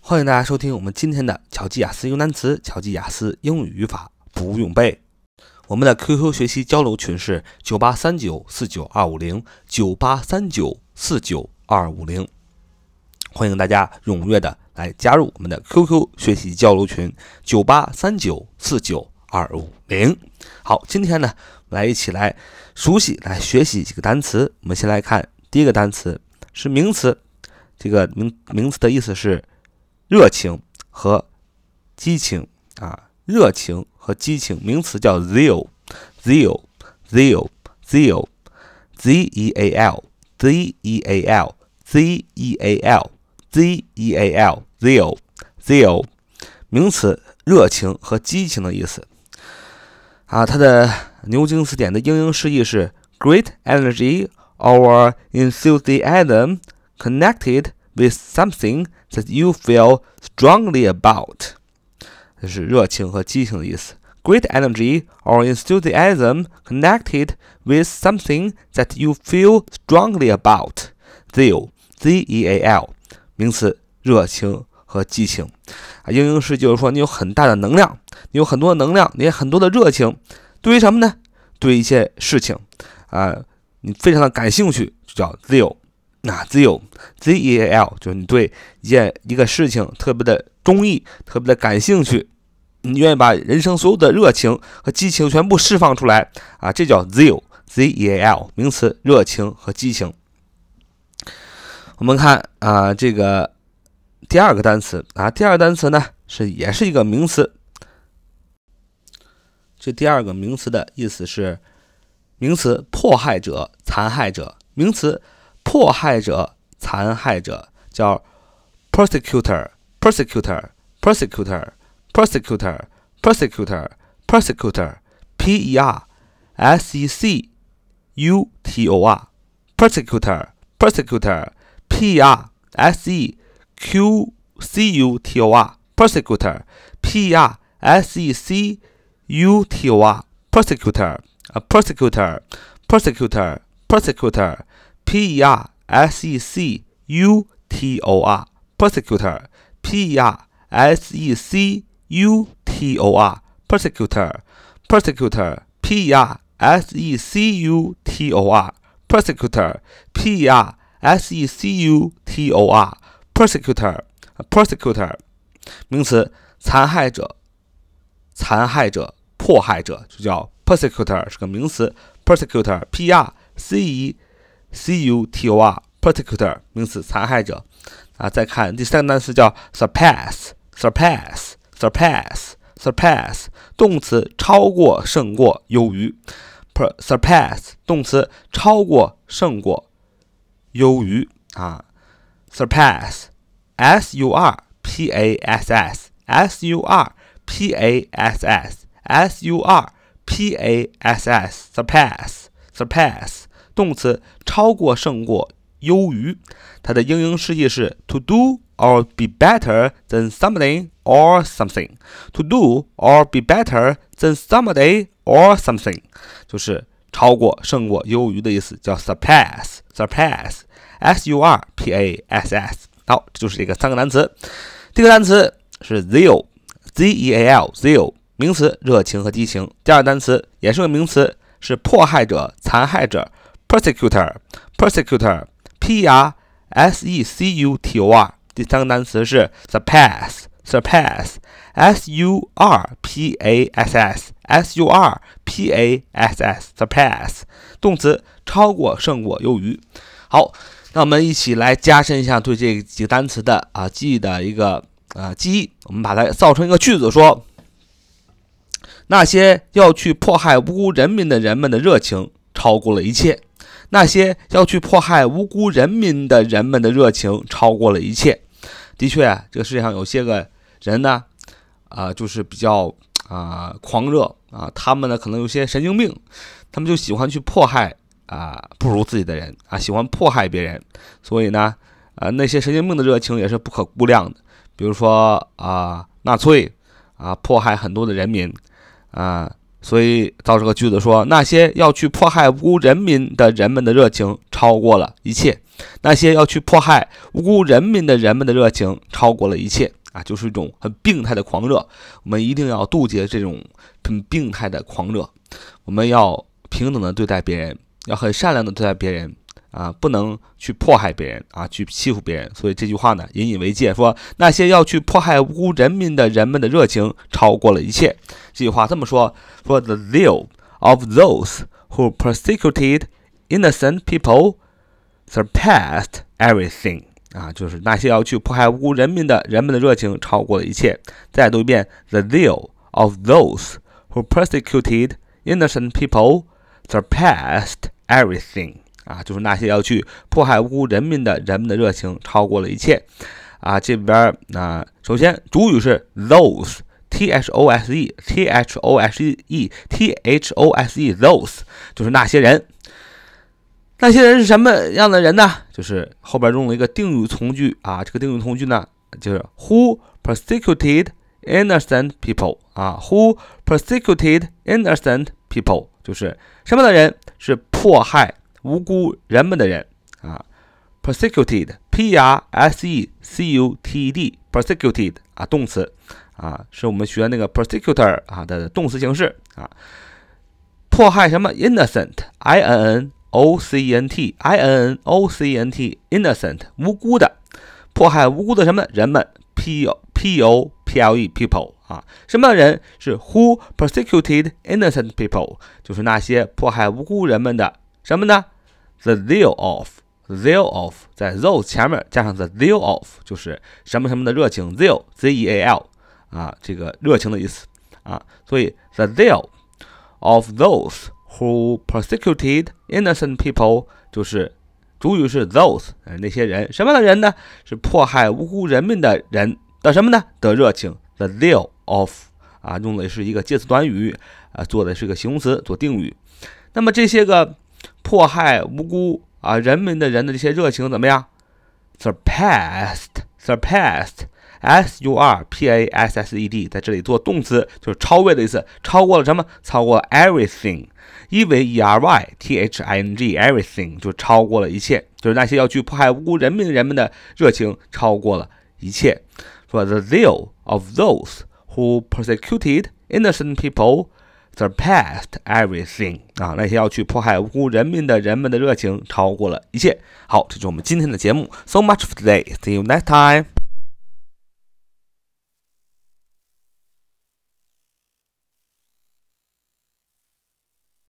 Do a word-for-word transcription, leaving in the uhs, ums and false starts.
欢迎大家收听我们今天的巧记雅思英语单词、巧记雅思英语语法不用背。我们的 Q Q 学习交流群是九八三九四九二五零 九八三九四九二五零，欢迎大家踊跃的来加入我们的 Q Q 学习交流群九八三九四九二五零。好，今天呢，我们来一起来熟悉、来学习几个单词。我们先来看第一个单词是名词，这个名名词的意思是热情和激情啊，热情和激情，名词叫 zeal zeal zeal zeal z e a l z e a l z e a l z e a l zeal zeal 名词热情和激情的意思啊，它的牛津词典的英英释义是 great energy or enthusiasm connected with something that you feel strongly about， 这是热情和激情的意思。Great energy or enthusiasm connected with something that you feel strongly about. Zeal, Z E A L， 名词热情和激情。啊，英英释就是说你有很大的能量，你有很多的能量，你有很多的热情。对于什么呢？对一些事情啊，你非常的感兴趣，就叫 zeal。那 zeal Z E A L 就是你对一件一个事情特别的中意，特别的感兴趣，你愿意把人生所有的热情和激情全部释放出来啊，这叫 zeal Z E A L 名词热情和激情。我们看啊，这个第二个单词啊，第二个单词呢是也是一个名词，这第二个名词的意思是名词迫害者、残害者，名词迫害者、残害者叫 persecutor persecutor persecutor persecutor persecutor persecutor P E R S E C U T O R persecutor persecutor P E R S E Q C U T O R persecutor P E R S E C U T O R persecutor persecutor persecutor persecutor P E R S E C U T O R persecutor P E R S E C U T O R persecutor persecutor P E R S E C U T O R persecutor P E R S E C U T O R persecutor persecutor 名词残害者、残害者、迫害者就叫 persecutor 是个名词 persecutor P E R C E C U T O R persecutor 名词残害者啊。再看第三个单词叫 surpass surpass surpass surpass 动词超过、胜过、优于 surpass 动词超过、胜过、优于啊。surpass S U R P A S S S U R P A S S S U R P A S S surpass surpass动词超过、胜过、优于，它的英英释义是 to do or be better than somebody or something. To do or be better than somebody or something 就是超过、胜过、优于的意思，叫 surpass surpass S U R P A S S。 好，这就是这个三个单词。第一个单词是 zeal Z E A L zeal 名词热情和激情。第二个单词也是个名词，是迫害者、残害者persecutor persecutor P E R S E C U T O R 第三个单词是 surpass surpass S U R P A S S S U R P A S S surpass 动词超过、胜过、优于。好，那我们一起来加深一下对这几个单词的啊记忆的一个啊记忆，我们把它造成一个句子说，那些要去迫害无辜人民的人们的热情超过了一切，那些要去迫害无辜人民的人们的热情超过了一切。的确啊，这个世界上有些个人呢啊、呃，就是比较啊、呃、狂热啊，他们呢可能有些神经病，他们就喜欢去迫害啊、呃、不如自己的人啊，喜欢迫害别人。所以呢啊、呃、那些神经病的热情也是不可估量的。比如说啊、呃、纳粹啊迫害很多的人民啊、呃所以造这个句子说，那些要去迫害无辜人民的人们的热情超过了一切。那些要去迫害无辜人民的人们的热情超过了一切啊，就是一种很病态的狂热。我们一定要杜绝这种很病态的狂热，我们要平等的对待别人，要很善良的对待别人啊，不能去迫害别人啊，去欺负别人。所以这句话呢，引以为戒，说那些要去迫害无辜人民的人们的热情超过了一切。这句话这么说，说 The zeal of those who persecuted innocent people surpassed everything 啊，就是那些要去迫害无辜人民的人们的热情超过了一切。再读一遍 The zeal of those who persecuted innocent people surpassed everything 啊，就是那些要去迫害无辜人民的人们的热情超过了一切啊。这边啊，首先主语是 those T H O S E T H O S E T H O S E those 就是那些人。那些人是什么样的人呢？就是后边用了一个定语从句啊，这个定语从句呢，就是 who persecuted innocent people 啊 ，who persecuted innocent people 就是什么样的人？是迫害无辜人们的人啊 ，persecuted P R S E C U T E D persecuted 啊，动词啊，是我们学那个 persecutor 啊的动词形式啊，迫害什么 innocent I N N O C E N T I N N O C E N T innocent 无辜的，迫害无辜的什么人们 P O P O P L E people 啊，什么人是 who persecuted innocent people 就是那些迫害无辜人们的什么呢 the zeal of zeal of 在 those 前面加上 the zeal of 就是什么什么的热情 zeal Z E A L 啊，这个热情的意思啊，所以 the zeal of those who persecuted innocent people 就是主语是 those 那些人，什么样的人呢？是迫害无辜人民的人的什么呢？的热情 the zeal of 啊，用的是一个介词短语啊，做的是个形容词做定语。那么这些个迫害无辜啊人民的人的这些热情怎么样 ？surpassed surpassed S U R P A S S E D 在这里做动词，就是超越的意思，超过了什么？超过了 everything E V E R Y T H I N G everything 就超过了一切，就是那些要去迫害无辜人民人们的热情超过了一切。说 The zeal of those who persecuted innocent people surpassed everything 啊，那些要去迫害无辜人民的人们的热情超过了一切。好，这就是我们今天的节目。So much for today. See you next time.